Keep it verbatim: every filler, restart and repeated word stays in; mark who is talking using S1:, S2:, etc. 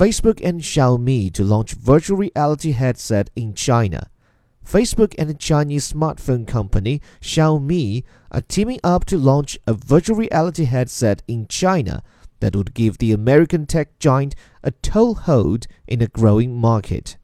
S1: Facebook and Xiaomi to launch virtual reality headset in China. Facebook and the Chinese smartphone company Xiaomi are teaming up to launch a virtual reality headset in China that would give the American tech giant a toehold in a growing market.